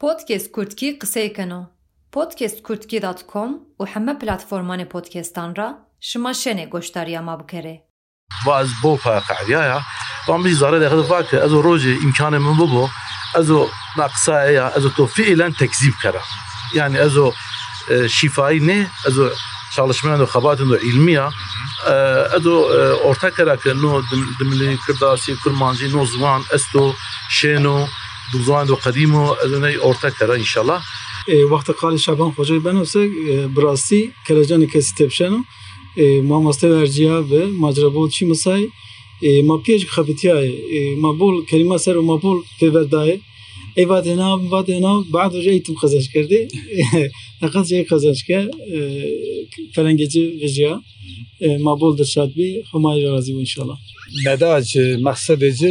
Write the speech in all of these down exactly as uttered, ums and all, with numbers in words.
بودكاست كردكي قسەی کەنەوە podcast kurdki dot com و همه پلتفرمان پودکستان را شما شنه گوشتاریا ما بکره. باز بو فاقعيا طبعا بيجي زاره ده فاك ازو روجي امكانه من بابو ازو ناقصايا ازو تو فعلا تكذيب كره يعني ازو شفاي نه ازو çalışmayan ve xabatın da ilmiya ازو orta karak no demli kırdasi kurmancı no zaman esto şeno دوزان و قدیم و از اونای orta kara inşallah. وقت قال شعبان خوجای بنوسه براستی کلاجانی کسی تبشنو ما ماسته ورجیا و مجربول چی مسای ما پیش خبتیای ما بول کلمه سر و ما بول پیوردای ای وقت هنا وقت هنا بعد وجه ایتم خزش کرده نقص جای خزش کرد فرنگیجی وجیا ما بول درشاد بی همای راضی و انشالله. نداج مقصدی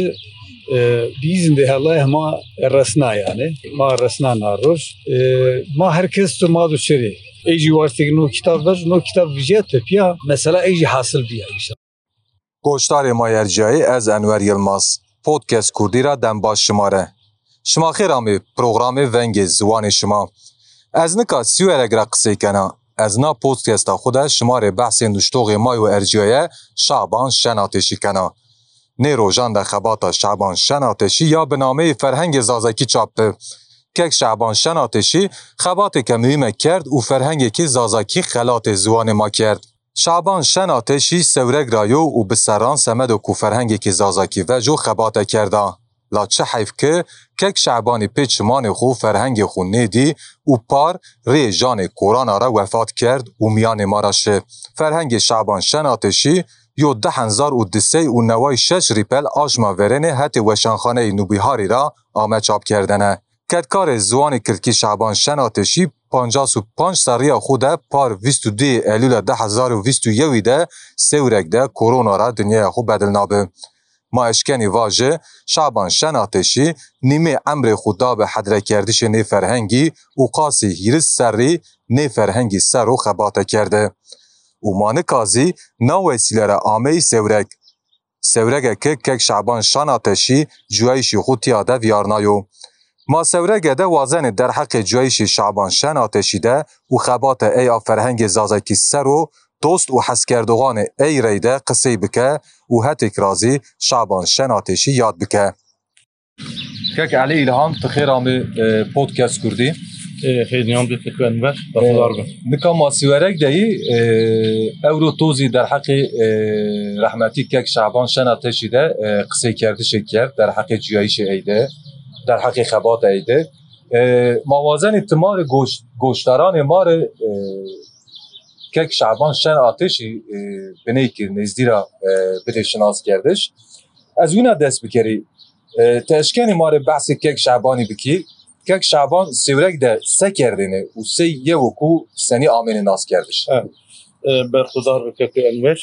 بیزن ده الله ما رسنا yani ma resna naroş ma herkes tu ma do şeri eji vartık no kitap var no kitap vijet ya mesela eji hasıl biya inşallah. گوشتار ما یرجایی از انور یلماز پودکست کردی را دم باش شماره شما خیرامی پروگرام ونگ زوان شما از نکا سیوره گر قصه کنه از نا پودکست خود شماره بحث نشتوغ مای و ارجایی شعبان شناتشی کنه نه روزان در خبات شعبان شناتشی یا به نامه فرهنگ زازکی چاپه که شعبان شناتشی خبات که مهمه کرد و فرهنگ که زازکی خلات زوان ما کرد شعبان شناتشی سورگ رایو و بسران سمد و کو فرهنگ که زازکی و جو خبات کرده لا چه حیف که که شعبان پیچمان خو فرهنگ خو نیدی و پار ری جان کورانا را وفات کرد و میان ما را شه فرهنگ شعبان شناتشی یو ده هزار و دسه و نوای شش ریپل آشما ورنه حتی وشانخانه نوبیهاری را آمد چاپ کردنه. کدکار زوان کردکی شعبان شناتشی پانجاس و پانج سریا خوده پار ویست و دی ایلول ده هزار و ویست و یوی ده سورک ده کورونا را دنیا خود بدل نابه. ما اشکنی واجه شعبان شناتشی نیمه عمر خدا به حدره کردش نی فرهنگی و قاسی هیرس سری نی فرهنگی سر و خباته کرده. و مانکازی نو وسیله را آمه سورک سورک که که شعبان شناتشی جویشی خود یاده ویارنایو ما سورک ده وازن در حق جویشی شعبان شناتشی ده و خبات ای فرهنگ زازکی سر و دوست و حس کردوغان ای ریده قصی بکه و هتک رازی شعبان شناتشی یاد بکه که علی الهام تخیر آمه پودکست کردی خیلی نیام بیت که انور دفعه بر نکام ماسیورک دهی اورو توزی در حق رحمتی که شعبان شناتشی ده قصه کرده شکر در حق جیایش ایده در حق خبات ایده موازن تمار گوشت گوشتاران مار که شعبان شناتشی بنی که نزدی را بده شناس کردش از اون دست بکری تشکن مار بحث که شعبانی بکی که شعبان سیورک ده سه کردنه و سه یه وکو سنی آمین ناس کردش برخدار بکه انور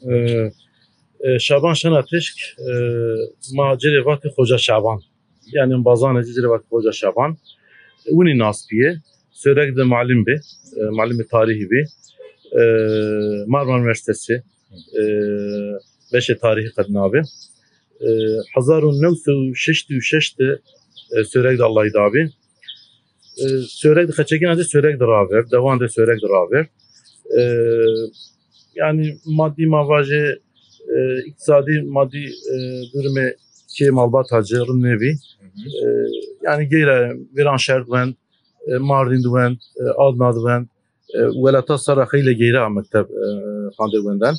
شعبان شناتشک ما جری وقت خوجا شعبان yani bazan جری وقت خوجا شعبان اونی ناس بیه سیورک ده معلم به معلم تاریخی به مارمار üniversitesi beş tarihi kadnabe هزار و نهصد و شصت و شش سورک د الله دابی سورک د خچگین از سورک دراور دوان د سورک دراور yani maddi mavaje iktisadi maddi durumu ki malbat hacırın nevi yani geyre viran şertven Mardin duven Adna duven velata sarakıyla geyre mektep kandırvenden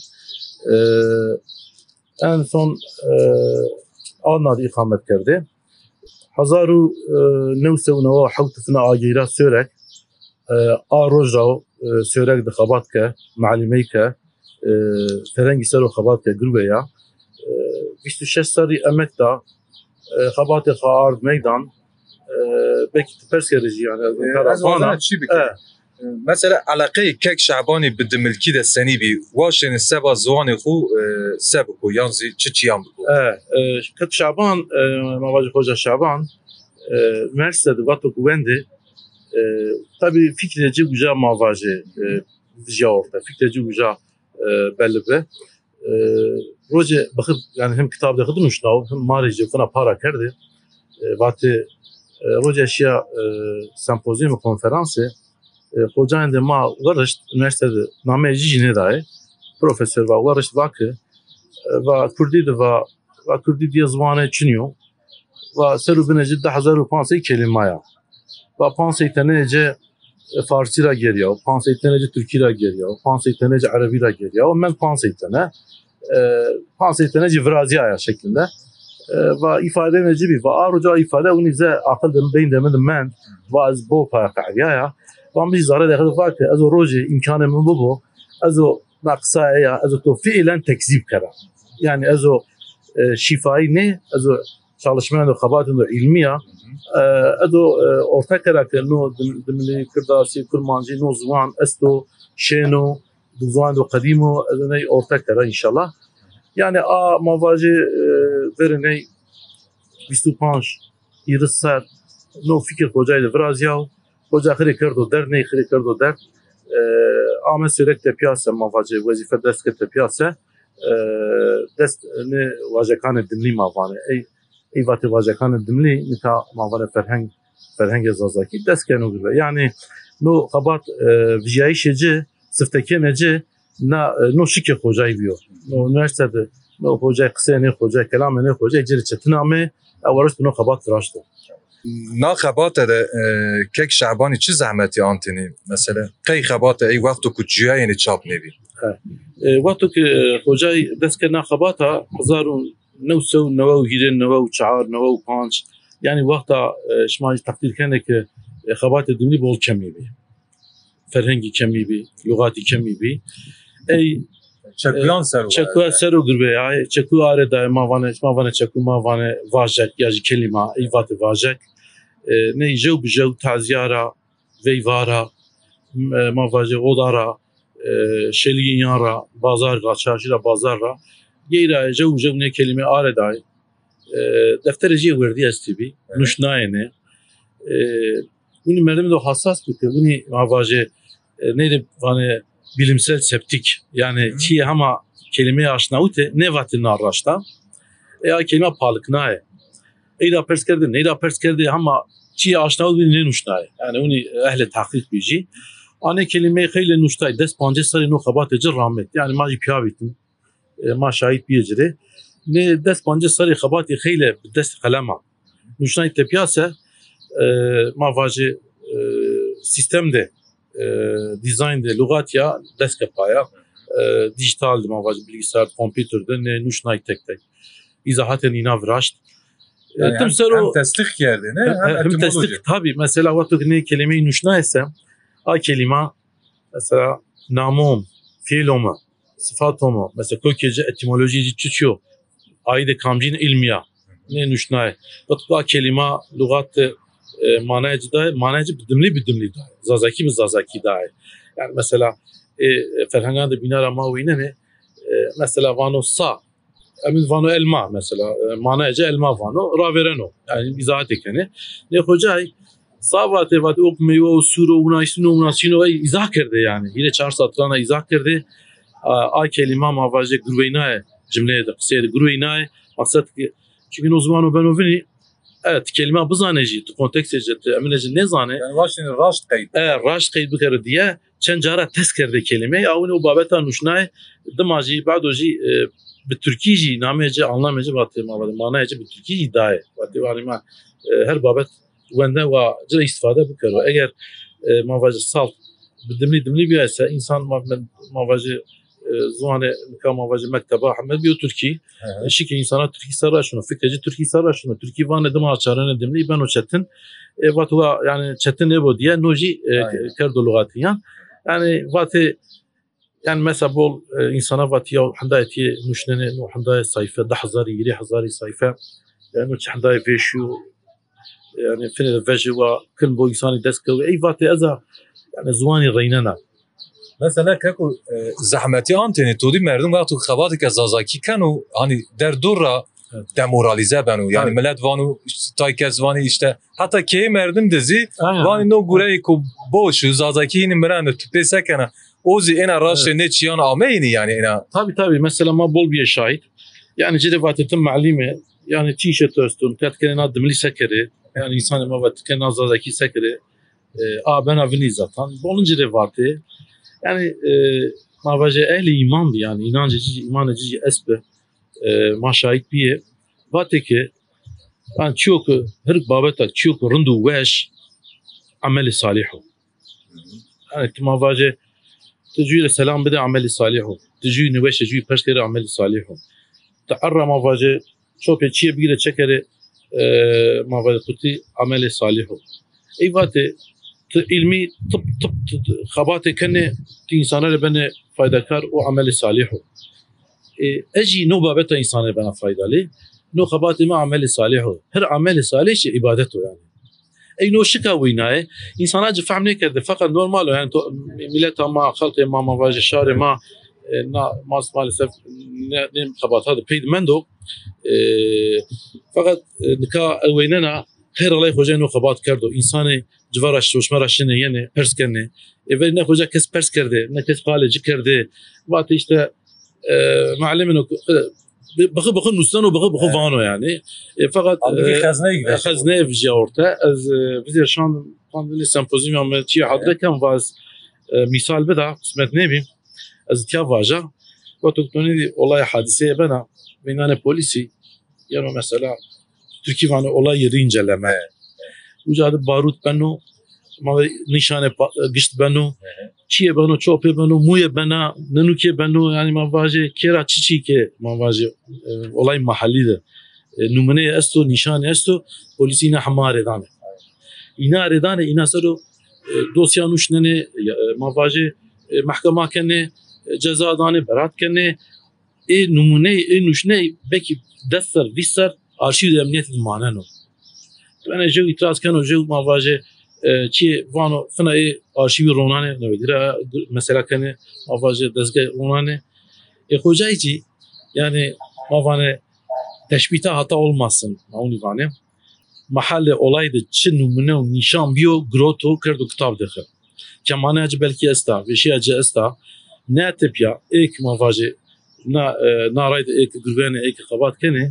en son Adna'da ikamet kerdi هزار و نهصد و نود و هفت سنة آجیرا سورک آروج را سورک دخابات که معلمی که فرنگی سر و خابات که گروه یا بیست و شش سالی امک دا خابات خارد میدان بکی تپرس کردی yani از وانه چی بکنه مثلا علاقه که شعبانی به ملکی ده سنی بی واشن سبا زوان خو سب کو یانزی چه چیام بکو که شعبان مواجه خوجا شعبان üniversitede vatı güvendi tabii fikreci güzel mavaje vizya orta fikreci güzel belli be proje bakıp yani hem kitapta okudum şunu hem marici falan para kerdi vatı روجا شيا سمپوزیوم konferansı hocanın da ma varış üniversitede name jijine dahi profesör ve varış vakı ve Kurdi de ve ve Kurdi diye zvanı çiniyor ve serubine ciddi hazır ve pansi kelimaya ve pansi tenece Farsi ra geliyor, pansi tenece Türkçe ra geliyor, pansi tenece Arabi ra geliyor. Men pansi tene pansi tenece Vraziya şeklinde ve ifade necibi ve aruca ifade onu bize akıl dem beyin demedim men ve az bu paraya ve biz zara dehil var ki az o roji imkanı mı bu az o naqsa ya az o fiilen tekzip kara yani az o şifayı ne az o çalışmanın da kabatın da ilmiya az o orta karakter no demli kırdasi kurmancı no zaman esto şeno zaman da kadimo az ne orta kara inşallah yani a mavacı verene بیست و پنج ایرز سر نو فکر کجای ورازیاو کجا خری کردو در نه خری کردو در آمد سرک تپیاسه مواجه وظیفه دست که تپیاسه دست نه واجکان دملی ماوانه ای ای وقت واجکان دملی نتا ماوانه فرهنگ فرهنگ زازاکی دست کنو گره یعنی نو خبات ویایشجه سفتکی نجه نه نو شکر کجای بیو نو نرسده نو کجای قصه نه کجای کلام نه کجای جری چتنامه اولش بنو خبات راشته نا خبات ده کک شعبانی چه زحمتی آنتینی مثلا کی خبات ای وقتو که جیای یعنی چاپ نبی وقتو که کجای دست که نا خباتا هزار و نوسو نو و هیرن نو و چهار نو و پنج یعنی وقتا شما تقدیر کنه که خبات دملی بول کمی بی فرهنگی کمی بی لغاتی کمی بی ای چکلان سر چکو سر و گربه ای چکو آره دای ما وانه ما وانه چکو ما وانه واژک یا کلمه ای وات واژک نه جو بجو تعزیارا ویوارا ما واژه odara şelinyara bazar ra çarşıra bazar ra yera جو جو ne kelime آره دای defterci verdi estibi nuşnayene bunu merdim de hassas bir bunu mavaje neydi vane bilimsel septik yani ki ama kelimeye aşinaute ne vatin araşta ya kelime palıknae eyda pers kerdi neyda pers kerdi ama ki aşinaut ne nuşnay yani onu ehli tahkik biji ane kelime khile nuştay dest panje sari no khabat ecir rahmet yani ma piyavitim ma şahit biyecire ne dest panje sari khabat khile dest kalama nuşnay tepiyase ma vaje sistemde dizayn de lugat ya dest kapaya dijital ma vaje bilgisayar kompüterde ne nuşnay tek tek izahaten ina vraşt yani hem, hem tesdik yerdi ne hem, hem tesdik tabi mesela vakti ne kelimeyi nuşnayse a kelime mesela namum fiiloma sıfatoma mesela kökece etimolojici çıçıyor ayda kamcin ilmiya ne nuşnay vakti kelime lugat manacı da manacı bidimli bidimli da zazaki bir zazaki da yani mesela e, ferhanganda binara mavine ne e, mesela vano sa emin vano elma mesela e, manacı elma vano ravereno yani izahat ekeni ne hocay Savate vat ok meyve o suru unasino unasino izah kerdi yani yine çar satrana izah kerdi a kelime mavaje gruveynae cümleye de kısaydı gruveynae maksat ki çünkü o zaman o ben o vini evet kelime buzaneci kontekst eceti emineci ne zane yani başını raşt kayıt e raşt kayıt bukere diye çencara tezkerde kelime ya onu babeta nuşnay damaji badoji bir Türkiye'ci namece anlamacı batı mavadı manacı bir Türkiye iddia batı var ama her babet wende ve cire istifade bukero eğer e, mavacı salt dimli dimli bir ise insan mavacı e, zuhane mavacı mektebe Ahmet bir Türkiye şike insana Türkiye sarar şunu fikreci Türkiye sarar şunu Türkiye van edim açarını dimli ben o çetin e, vatula yani çetin ne bu diye noji kerdo lugatiyan yani vatı yani mesela bol e, insana vatiya handayeti nuşnene no handayet sayfa da hazari yiri hazari sayfa yani handayet veşu yani fine veji ve kıl bu insanı deske ve eyvati eza yani zuani reynana mesela kako zahmeti anteni todi merdum vaqtu khabat ke zazaki kanu hani der durra demoralize benu yani millet vanu tay kezvani işte hatta ki merdum dizi vani no gurey ko boş zazaki ni meran tüpe sekana ozi ena raşe ne çiyan ameyni yani ena tabi tabi mesela ma bol bir şahit yani cedevatetin malime yani t-shirt üstün tetkenen adımlı sekeri Yani insan ma vatken nazadaki sekre a ben avni zaten. Bolunca revati. Yani e, ma vaje ehli iman bi yani inancı iman edici esbe ma şahit biye vateke ben çok her babetak çok rundu weş ameli salihu. Yani ma vaje تجي السلام بدي عمل صالح تجي نوش تجي بشكر عمل صالح تعرى ما فاجئ شو بيجي بيجي تشكر ما فاجئ قلتي عمل صالح اي وقت علمي طب طب خباتي كنه انسان اللي بني فايده كار وعمل صالح اجي نو بابته انسان اللي بني فايده لي نو خباتي ما عمل صالح هر عمل صالح عبادته يعني اي نو شكا ويناي انسانات فهمني كده فقط نورمال يعني ملتها ما خلق ما ما واجه شارع ما نا ما مالسف نم خبات هذا بيد مندو فقط نكا ويننا خير الله خوجانو خبات كردو انساني جوارش وشمرش نه يعني پرس کنه اول نه خوجا کس پرس کرده نه کس خالج کرده وقت işte معلمینو بخو بخو نوستان و بخو بخو وانو yani fakat خزنه خزنه وجه orta az vizir şan pandeli sempozyum ama çi hadrekem vaz misal beda kısmet ne bim az tiya vaja ve toktoni olay hadiseye bana binane polisi yani mesela Türkiye vanı olay yeri inceleme ucadı barut beno ma nişane gişt beno çiye beno çope beno muye bena nenuke beno yani ma vaje kera çiçi ke ma vaje olay mahallide numune esto nişane esto polisine hamare dane ina redane ina sero dosya nuşnene ma vaje mahkema kene ceza dane berat kene e numune e nuşne belki defter visar arşiv emniyet maneno ben جو itiraz kano جو ma vaje çi vano fena e arşivi ronane ne vedira mesela kene ma vaje dezge ronane e hocayci yani ma vane teşbita hata olmasın mauni vane mahalle olaydı çin numune nişan biyo groto kerdo kitab dekhe kemane acı belki esta ve şey acı esta ne tepya ek ma vaje na na rayda ek güvene ek kabat kene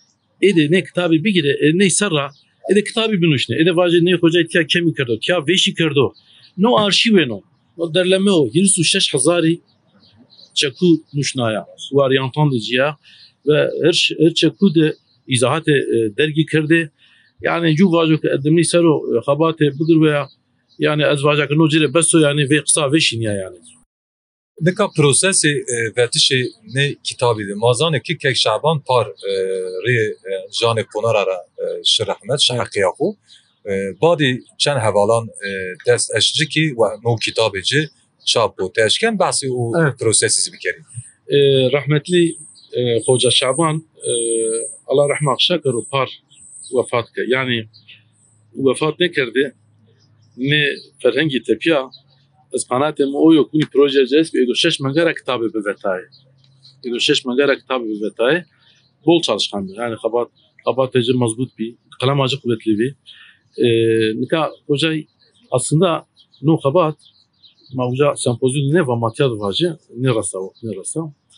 ede ne kitabı bir gire ne sarra ede kitabı binuşne ede vaje ne hoca itya kemi kerdo kya veşi kerdo no arşiveno no derleme o yirsu şeş hazari çaku nuşnaya varyantan diye ve her her çaku de izahat dergi kerdi yani ju vajo ke edemni sero khabate budur veya yani az vaja ke no cire beso yani ve kısa veşin ya yani Dika prosesi vetişi ne kitabıydı. Mazane ki kek Şaban par ri jane ponarara şirahmet şahkiyaku. Badi çen hevalan dest eşci ki ve no kitabıcı çapo teşken bahsi o prosesi bikeri. Rahmetli Hoca Şaban Allah rahmet şakır par vefat ke. Yani vefat ne kerdi? Ne ferhengi tepiya از قنات مو يكون بروجه جذب ايدو شش مقره كتابه بفتاي ايدو شش مقره كتابه بفتاي bol çalışkan yani kabat kabat tecrübe mazbut bir kalem acı kuvvetli bir nika hocay aslında no kabat mavca sempozyum ne va matya vacı ne rasa ne rasa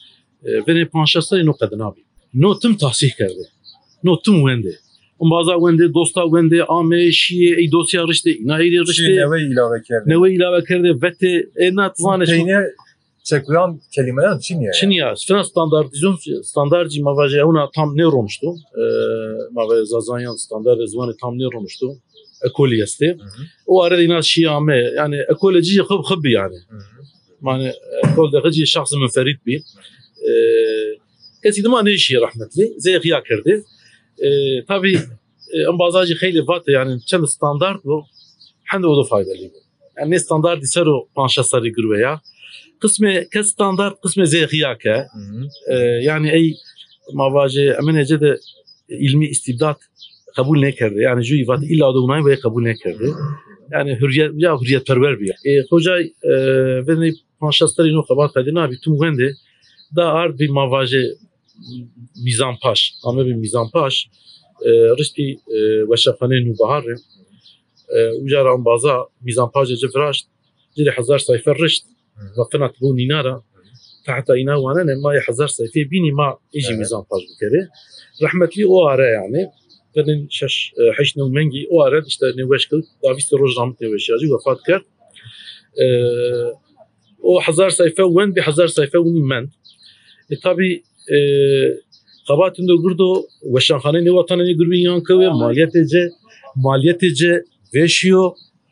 ve ne panşasa no kadın abi no tüm tahsih kerdi no tüm wende اون بعضا ونده دوستا ونده آمه شیه ای دوسیا رشته اینا ایری رشته نوی ilave کرده نوی ilave کرده vete enat vane Teyne çekuyan kelimeler Çinye. Çinye fena standartizasyon standartcı mavaje ona tam ne olmuştu mavaje zazanyan standart zvanı tam ne olmuştu ekoli este o arada ina şiame yani ekoloji khab khab yani yani ekol da gıcı şahs منفرد bir kesin ma ne işi rahmetli zeyhiya kerdi tabii en bazıcı خیلی vate yani çel standart bu hande o da faydalı yani ne standart ise o panşasları grubeya kısmı kes standart kısmı zeyhiya ke yani ey mavaje emenece de ilmi istibdat kabul ne kerdi yani ju vat illa da unay ve kabul ne kerdi yani hürriyet ya hürriyet perver bir e hoca ve ne panşasları no kabar kadına bir tüm gende da art bir mavaje میزانپاش همه به میزانپاش رشتی وشخانه نوبهار وجا رام بازا میزانپاش جفراش جري هزار صيفه رشت وقنات بوني نارا تحت اينا وانا ما هزار صيفه بيني ما يجي ميزانپاش بكره رحمت لي او اره يعني benim şaş heş newmengi o arad işte newş kıl Davis Rojram newşacı vefat kar. O hazar sayfa wen bir hazar sayfa wen men. E tabi qabatın da gurdo veşanxane ne vatanı ne gurbin yankı ve maliyetece maliyetece veşiyor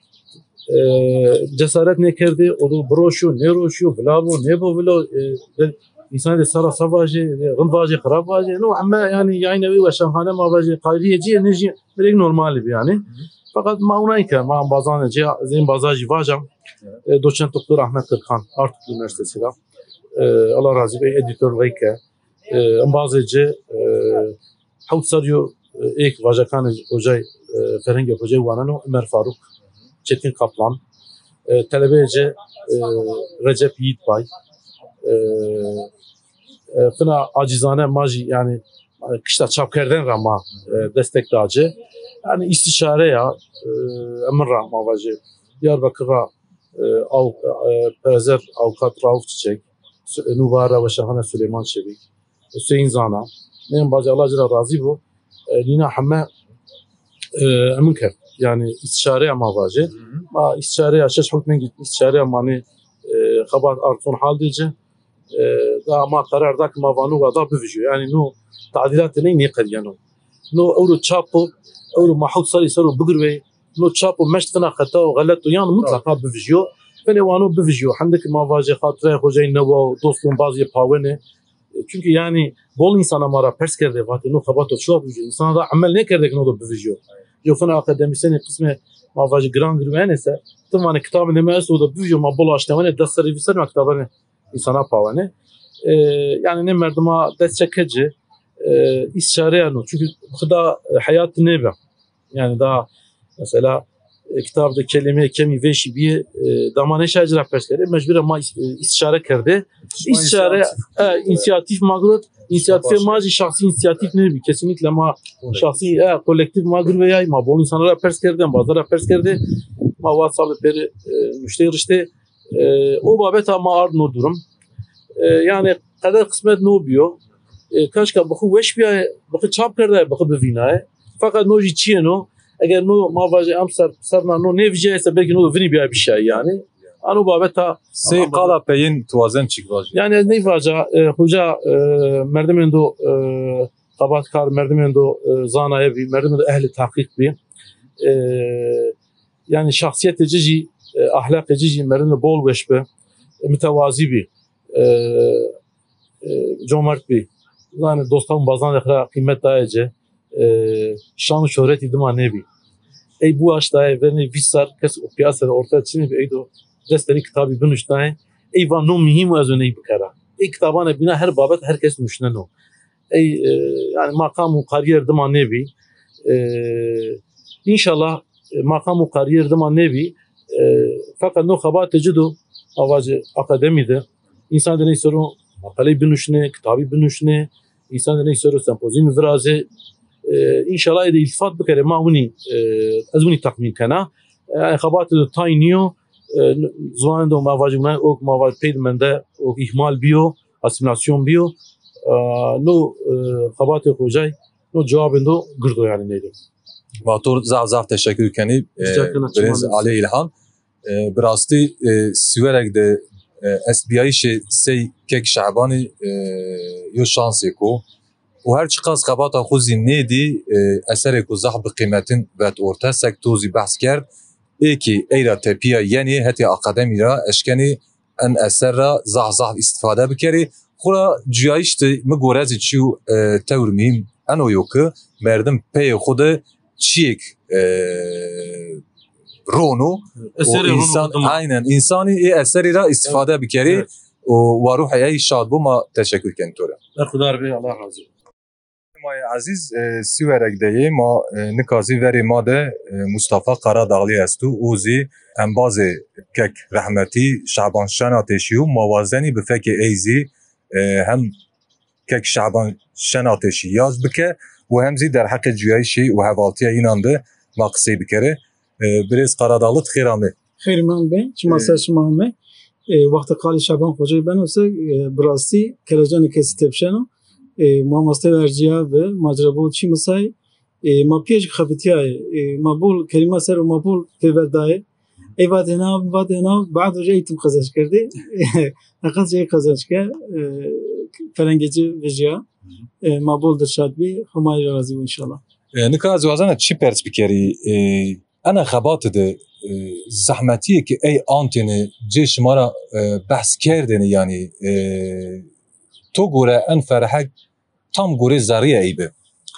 cesaret ne kerdi o da broşu ne roşu vlavo ne bu vlo insan de sara savaje gınvaje xaravaje no ama yani yani ve veşanxane mavaje qayriyeci enerji böyle normal bir yani fakat maunayka ma bazanece zin bazajı vajam doçent doktor Ahmet Kırkan Artuk Üniversitesi la Allah razı be editör veyke bazıcı havt sarıyor ek vajakan hocay Ferengi hocay vanano Ömer Faruk Çetin Kaplan talebece Recep Yiğitbay fına acizane maji yani kışta çapkerden rama destek dağcı yani istişare ya emir rahma vacı Diyarbakır'a av Perezer avukat Rauf Çiçek Nuvara ve Şahane Süleyman Çevik Hüseyin Zana nem bazı Allah Celle razı bu Lina Hamme emin kert yani istişare ama vacı ma istişare ya şaş hükmen git istişare ama ne xabar artun hal diye da ma karar dak ma vanu ve da bivijyo yani no tadilat ne ne qadiyano no euro çapo euro mahut sari saru bugurve no çapo meştena khata ve galat yani mutlaka bivijyo ben vanu bivijyo handaki ma vacı khatre hocay neva dostum bazı pavene çünkü yani bol insana mara pers kerde vatı no xabato şu bivijyo insana da amel ne kerdek no da bivijyo yo fena akademisyen kısmı ma vacı gran girmene ise tamam kitabı ne mesu da bivijyo ma bol açtığını da serviser maktabane insana pavane yani ne merduma destekçi istişare yani çünkü bu da hayat ne be yani daha mesela kitapta kelime kemi veşi bir damane şacira persleri mecbur ama istişare kerdi istişare inisiyatif magrut inisiyatif maji şahsi inisiyatif ne bir kesinlikle ma şahsi kolektif magru veya ma bol insanlara pers kerdi bazılara pers kerdi ma vasalı peri müşteri işte o babet ama ard no durum yani kadar kısmet no biyo kaşka bu veş bir bu çap kerdi bu bevinaye fakat no jiçino eğer no mavaje amsar sarna no ne vijese belki no vini bir bir şey yani anu babeta Sey qala peyin tuazen çıkvaj. yani ne vaja hoca merdimendo qabat kar merdimendo zanaya bir merdimendo ehli tahkik bir yani şahsiyet cici ahlak cici merdimendo bol veşbe mütevazi bir cömert bir yani dostum bazan da kıymet dayıcı şan şöhret idima nebi ey bu aştaya verni visar kes o piyasada ortaya çıkıyor bir eydo desteri kitabı bunuştay ey va no mühim az öneyi bikara ey kitabana bina her babet herkes düşünen o ey yani makam kariyer dima nebi inşallah makam kariyer dima nebi fakat no xabat tecido avacı akademide insan da ne soru makale bunuşne kitabı bunuşne insan da ne soru sempozyum viraze İnşallah ede iltifat bikere ma huni az huni takmin kana yani xabat tayniyo زوان ما واجب نه او ما واجب پید منده او ihmal biyo asimilasyon biyo no xabat xojay no cevabında gırdo yani neydi Matur zav zav teşekkür keni Brez Ali İlhan Brasti Süverek de S B I şey sey kek şabani yo şansı ko و هر چقدر خبات خوزی نیدی اثر کو زحب قیمتین و orta sektozi bahs کرد ای کی ایرا تپیا یعنی هتی اکادمی را اشکنی ان اثر را زح زح استفاده بکری خورا جایشت مگورزی چیو تور مهم انو یوکه مردم پی خود چیک رونو و انسان aynen insani ای اثری را استفاده بکری و روح ای شاد بو ما تشکر کنیم توره خدا ربی الله razı مای عزیز سیورک دیه ما نکازی وری ما ده مصطفی قراداغلی استو اوزی انباز کک رحمتی شعبان شناتشیو موازنی به فک ایزی هم کک شعبان شناتشی یاز بکه و همزی در حق جویشی و حوالتی اینانده ما قصی بکره بریز قراداغلت خیرامه خیر من به چما سرش مهمه وقت قال شعبان خوجای بنوسه براستی کلاجان کسی تبشنو ماماسته ورجیا و ماجرابو چی مسای ما پیش خبتیای ما بول کلمه سر و ما بول پیوردای ای وقت هنا وقت هنا بعد وجه ایتم خزش کرده نقص جای خزش کرد فرنگیجی وجیا ما بول درشاد بی همای راضی و انشالله نکه از وزن چی پرس بکری انا خبات ده زحمتیه که ای آنتینه جه شما را بحث کردنه یعنی تو گوره ان فرحک tam گوره زریه ای به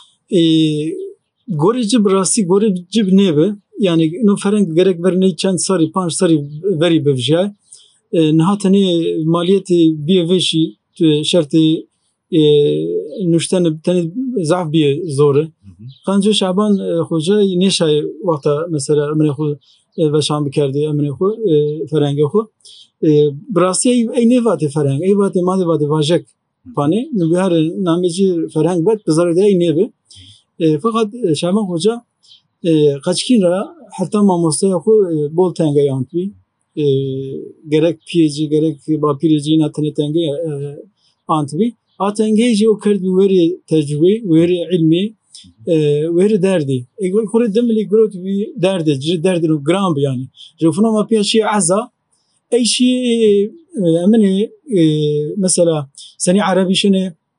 گوره جب راستی گوره جب نیبه yani no فرنگ gerek verneyi çend sarı panç sarı veri bevjay nihatene maliyeti bir veşi şartı nuşten tane zaf bir zoru kanca şaban hoca neşay vakta mesela emre xo veşan bikerdi emre xo فرنگ xo براستی ای نوات فرنگ ای وات ماده وات واجک pane nubihar nameci فرنگ بد بزرگ ای نیبه fakat şaban hoca kaçkin ra hatta mamostaya xo bol tenge yantvi gerek piyeci gerek bapireci natene tenge antvi atengeci o kerd veri tecrübe veri ilmi veri derdi egol xore demli grot vi derdi cir derdi no gram yani jofuna ma piyaşi azza ay şey amene mesela seni arabi şene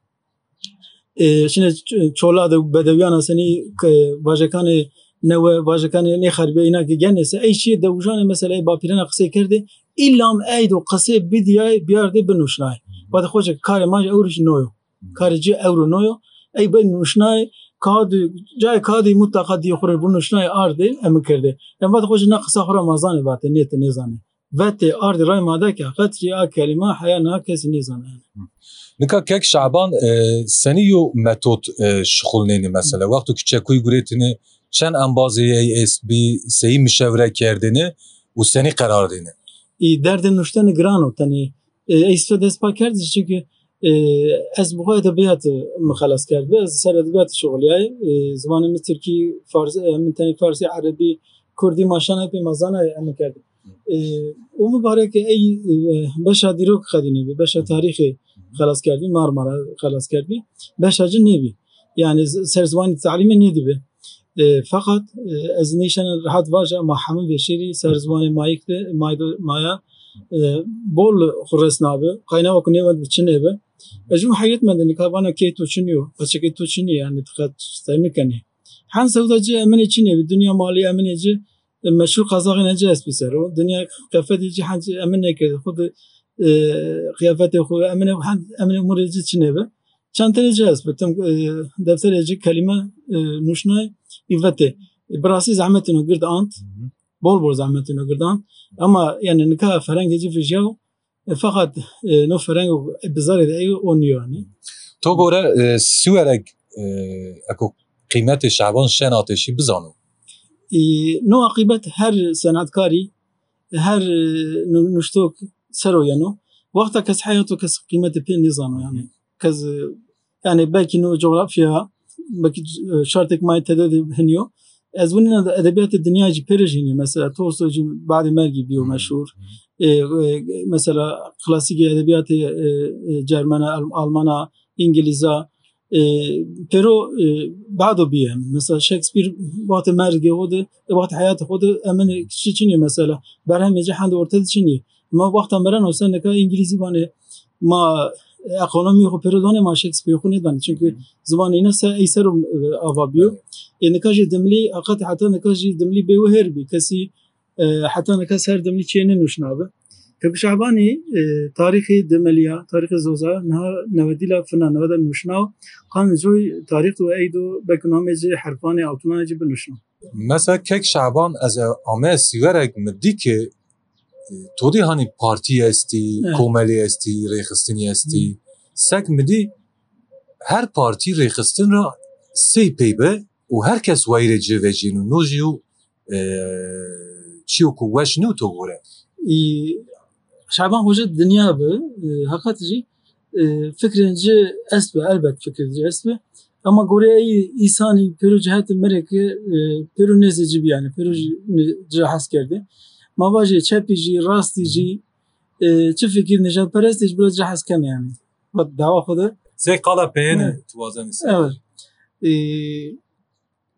şene çola da bedeviyana seni bajakane نوع واژگان نخربه اینا که گنسه ای چی دوجان مثلا با پیرنا قصه کرده ایلام اید و قصه بدیای بیارده بنوشنای بعد خوش کار ما اورش نویو کار جی اورو نویو ای بنوشنای کاد جای کادی مطلقا دی خور بنوشنای آرده ام کرده ام بعد خوش نقصه خور مازان بات نیت نزانه وقت آرد رای ماده که قطری ا کلمه حیا نه کسی نزانه نکا کک شعبان سنیو متد شغلنی مثلا وقتی که چکوی گریتنی چند انبازی ای اس بی سی مشاوره کردنه و سنی قرار دینه ای درد نوشتن گرانو تنی ایستو دست پا کرد چون از بخواه ادبیات مخلص کرد از سر ادبیات شغلیای زبان من ترکی فارسی من تنی فارسی عربی کردی ماشانه پی مزانه ام کرد و مبارک ای بشا دیروک خدینه بی بشا تاریخی خلاص کردی مارمارا خلاص کردی بشا جن نبی yani سر زبان تعلیمی ندی بی fakat از نیشان راحت واجه ما همه بشری سرزمان مایک ده مایدو مایا بول خورس نابه قاینا و کنی ود بچنه به اجو حیات من دنی کابانا کی تو چنیو بچه کی تو چنی yani تقد استعمال کنی han سوداجی امن چنی به دنیا مالی امن جی مشهور قزاقی نجا اس بسرو دنیا قفت جی han امن نکرد خود قیافت خود امن han امن امور جی چنه به چند تنه جاست بتم دفتر جی کلمه نوشنای ایوته براسی زحمتینو گرد آنت بول بول زحمتینو گردان اما yani نکه فرنگی جی فیجاو فقط نو فرنگ بزاری دایی اونیو yani تو گوره سوارگ اکو قیمت شعبان شناتشی بزانو نو قیمت هر صنعتکاری هر نشتوک سرو یانو وقتا کس حیاتو کس قیمت پی نزانو yani کس yani belki نو جغرافیا belki şartık may tededi heniyor. Az bunun edebiyat dünya ci perejini mesela Tolstoy ci بعد مرگی بیو مشهور mesela klasik edebiyat Cermana, Almana, İngilizce pero بعدو بیه mesela Shakespeare وقت مرگی خود وقت حیات خود امن چی چنی مثلا برهم جهان ortada چنی ما وقت مرن حسین که انگلیسی بانه ما اقانومی خو پردانه ما شکسپیر خو ندانه çünkü زبان اینا سه ایسر آوابیو نکاج دملی اقت حتی نکاج دملی به وهر بی کسی حتی نکاس هر دملی چینه نوشنابه که بشعبانی تاریخی دملیا تاریخ زوزا نه نودیلا فنا نودا نوشناو قان جوی تاریخ و ایدو بکنامه جه حرفانی altına جه بنوشناو مثلا کک شعبان از آمه سیورک مدی که تودی هانی پارتی استی کوملی استی ریخستنی استی سگ مدی هر پارتی ریخستن را سی پیبه و هر کس ویره جه و جینو نوجیو چیو کو وشنو تو گوره شعبان hoca dünya be hakikaten fikrince esbe elbet fikrince esbe ama gore insani peru cihet mereke peru nezeci bir yani peru cihaz kerdi mavaji çepici rastici çi fikir neşat perestiş biraz cihaz kem yani bak dava khoda سی قالا پینه تو وازن evet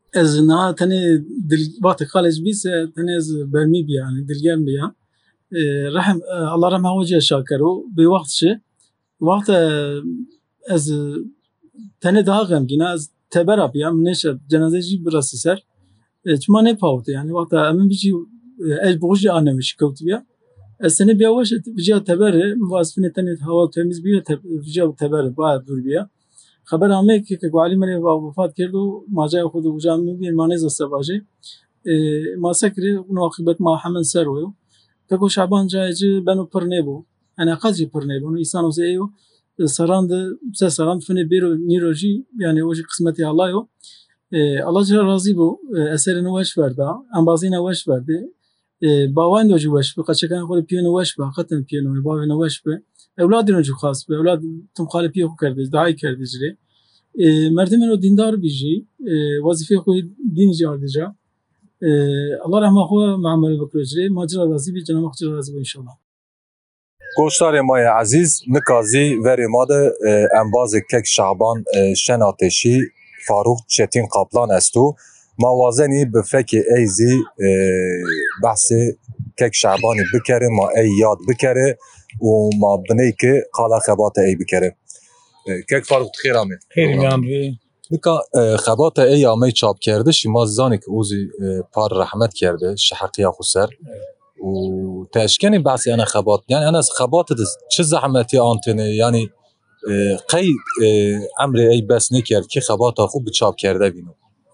ez na tenê dil vakti kalej bîse tenê ez bermî bî yani dilgerm bî ya rehm Allah rehma weciya şakero bê wext şi wext ez tenê daha xemgîn ez tebera bî ya min nêşe cenazê jî birastî ser çima nepawte yani wexta em min bîjî ez bi xwe jî aneme şi kewtibiya ez tenê biya weş vijiya teberê vasfinê tenê hewa temiz bîye vijiya teberê bayağı dûr bîye خبر آمه که که گوالی من وفات کرد و ماجای خود و جامعه بین مانیز استواجه ما سکری اون عاقبت ما همین سر ویو که شعبان جایجی بنو پر نبو انا قضی پر نبو اون انسان و زیو سراند سه سراند فنی بیرو نیروجی یعنی اوجی قسمتی الله یو الله جل راضی بو اثر نوش ورده انبازی نوش ورده باوان دوجی وش به قچه کن خود پیانو وش به قطن پیانو باوی نوش به اولادی رو جو خاص به اولاد تم خاله پیو کرده دعای کرده جری مردم رو دیندار بیجی وظیفه خود دین جارده جا الله رحمه خو معامله بکره جری ماجرا راضی بی جناب مخجر راضی بی انشالله گوشتار مای عزیز نکازی وری ماده انباز کک شعبان شن آتشی فاروق چتین قابلان استو موازنی به فکر ایزی بحث کک شعبانی بکره ما ای یاد بکره و ما بنی که قالا خبات ای بکره کک فاروق خیر آمد خیلی میام بی نکا خبات ای آمی چاپ کرده شما زانی که اوزی پار رحمت کرده شحقی خسر و تشکنی بحثی انا خبات یعنی انا خبات چه زحمتی آنتنه یعنی قی امر ای بس نکرد که خبات خوب چاپ کرده بینو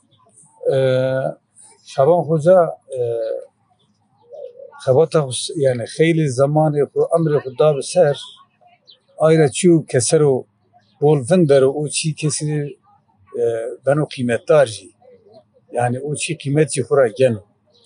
شبان خوزا خبات yani خیلی زمانی امر خدا بسر آیره چیو کسرو بولفندر و او چی کسی بنو قیمتدار جی yani او چی قیمتی خورا گنو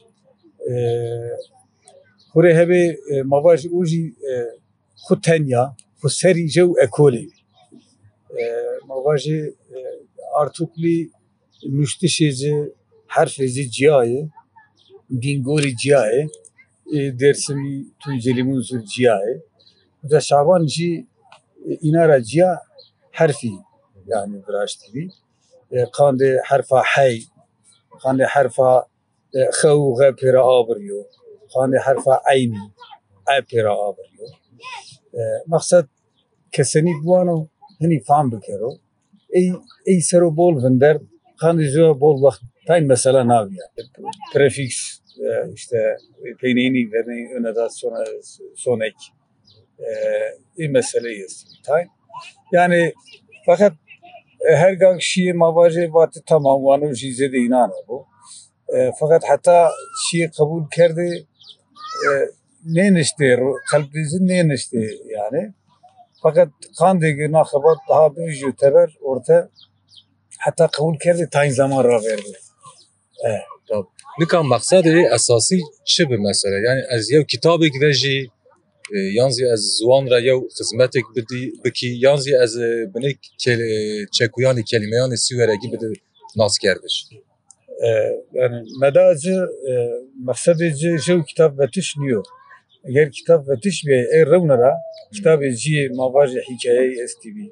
خوره هبه مواج او جی خود تنیا خود سری جو اکولی مواج ارتوکلی نوشتشی جی حرف جی جیایه دینگوری جیایه درسمی توی زور جیایه و شعبان جی اینا را جیا حرفی yani براشتی بی خانده حرفا حی خانده حرفا خو غ پیرا آبریو خانده حرفا عینی ای پیرا آبریو مقصد کسانی بوانو هنی فهم بکرو ای ای سرو بول وندر خانده جو بول وقت تاین مثلا ناویا پرفیکس işte peynini vermeyi öne sonra sonek این مسئله است تایم یعنی فقط هر گاه شیء مواجه وقت تمام وانو چیزی دینا نبود فقط حتی شیء قبول کرده نه نشته رو قلب دیزی نه نشته yani fakat kan degi nakhabat daha büyücü teber orta hatta kabul kerdi tayin zaman ra verdi. Evet. Tabii. Nikan maksadi esası çi bir mesele yani az yev kitabek veji yanzi az zuan ra yev hizmetek bidi biki yanzi az benek çekuyani kelimeyani sivere gibi de nas kerdiş. Yani medacı maksadi jev kitap vetiş niyo. Eğer kitap vetiş bir er revnara kitabı ji mavaji hikaye estibi.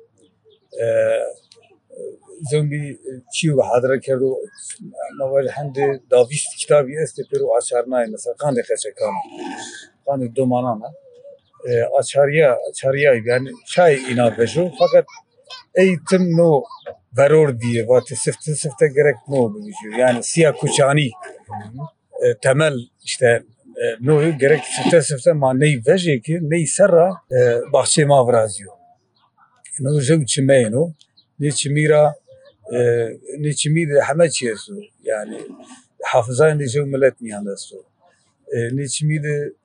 زنبی چیو حاضر کردو مواجه هنده داویست کتابی است پیرو آچارنای مثلا خانده خچه کام خانده دومانانا آچاریا آچاریا yani çay ina beşo fakat eğitim no varor diye vatı sifte sifte gerek no büyüyor yani siyah kuçani temel işte no gerek sifte sifte ma ney veje ki ney serra bahçe mavrazio no jo çimeno ne çimira نيشميد حمد شيسو يعني حافظان دي جو ملت ميان دستو نيشميد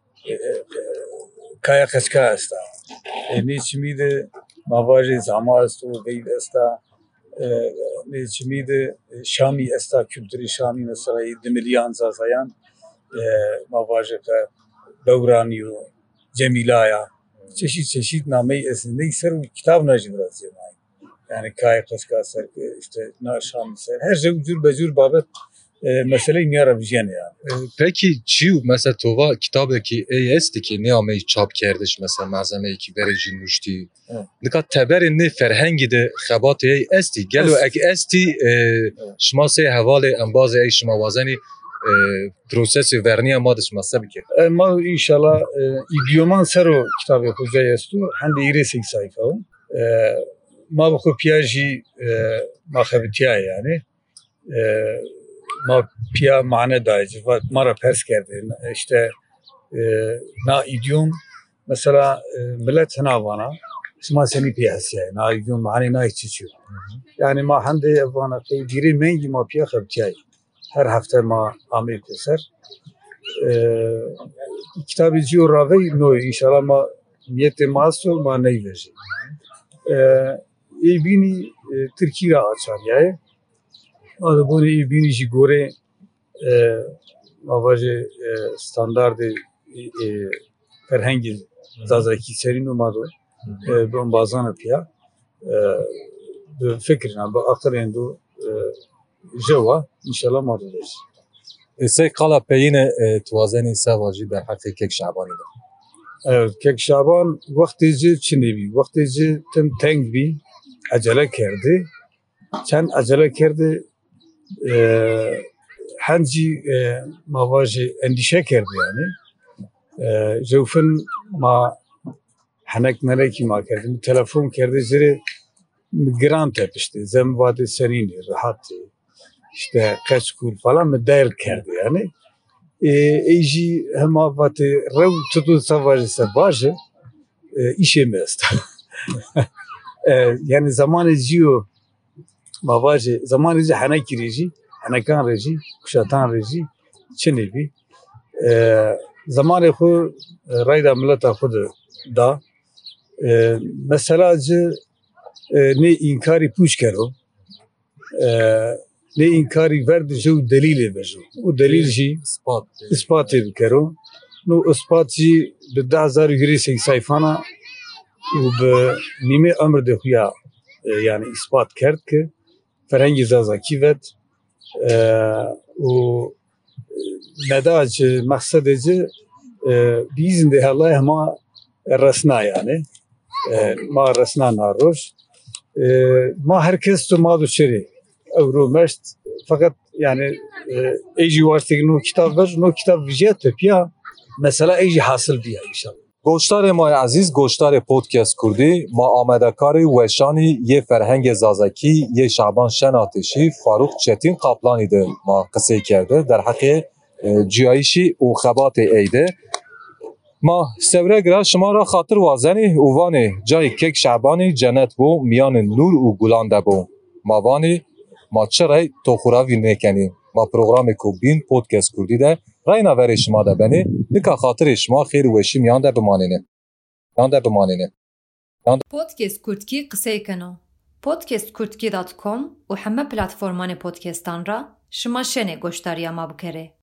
كايا خشكا استا نيشميد مواجه زعما استو ويد استا نيشميد شامي استا kültürü شامي مثلا دمليان زازايان مواجه دورانيو جميلايا çeşit çeşit nameyi esin neyser kitap najibrazı yani kayıp kaskasar işte naşam ser her şey ucur becur babet meseleyi niyara vijene yani. Peki çiğ mesela tova kitabı ki ey esti ki ne amey çap kerdiş mesela malzeme ki verici nuşti. Nika teberin ne ferhengi de xabat ey esti gelo ek esti şma se havale enbaz ey şma vazani prosesi verniye madış mesela ki. Ma inşallah idioman sero kitabı hoca estu hande ire sek sayfa. Ma bu piyaji ma xabitiya yani. ما پیا معنی دایج و مرا پرس کرده işte na idiom mesela millet hanavana اسمها سنی پیاسیه na idiom معنی na içiyor yani ma hande vana ki diri mengi ma pia xabtiyay her hafta ma amel keser kitabı diyor ravi no inşallah ma niyete maso ma ney veji e bini Türkiye açar yani Adı bunu iyi binici göre mavaje standardı ferhengi zazaki serin umadı ben bazen yapıyor fikrine bu aktarın do java inşallah maddedir. Ese kala peyine tuvazeni savacı der harfi kek şabani de. Evet kek şaban vaktici çinebi vaktici tem teng bi acele kerdi çen acele kerdi هنجی مواجه اندیشه کرده یعنی جوفن ما هنک ملکی ما کردیم تلفن کرده زیر گران تپشته زمواد سرینی راحتی işte kaç kur falan mı değer kerdi yani ایجی هما وقت رو tutu savaşı başı işe mest yani zamanı diyor mavaje zamanı diyor hana kirici hanakan reji kuşatan reji çenevi zamanı xu rayda milleta xud da mesela ne inkari puş kero ne inkari verdi jo delili bejo o delil ji ispat ispat kero no ispat ji bi ده هزار yuri sayfana و به نیمه عمر ده خویا yani ispat کرد که فرهنگ زازاکی ود و نداج مقصدی بیزنده الله ما رسنا yani ما رسنا ناروش ما herkes تو ما دو شری اورو مشت fakat yani ایجی واسطه نو kitap ver نو kitap vijat tepya mesela ایجی حاصل بیا inşallah. Goştarê me ezîz goştarê podcast Kurdî ma amedekarê weşanî yê ferhengê zazakî yê Şaban Şenatêşî Farûq Çetin Kaplanî de ma qisê kerde derheqê ciyayîşî û xebatê êyde ma sevre gira şima ra xatir wazenî û vanê cayê kek Şabanî cennet bû miyanên nûr û gulan de bû ma vanê ma çi rey toxuravî nekenî ma programê ku bîn podcast Kurdî de rayna verê şima de benê nika xatirê şima xêr û weşî miyan de bimanîne yan de bimanîne Podcast Kurtki qiseyekeno podcast kurtki dot com û heme platformanê podcastan ra şima şenê goştariya ma bikere.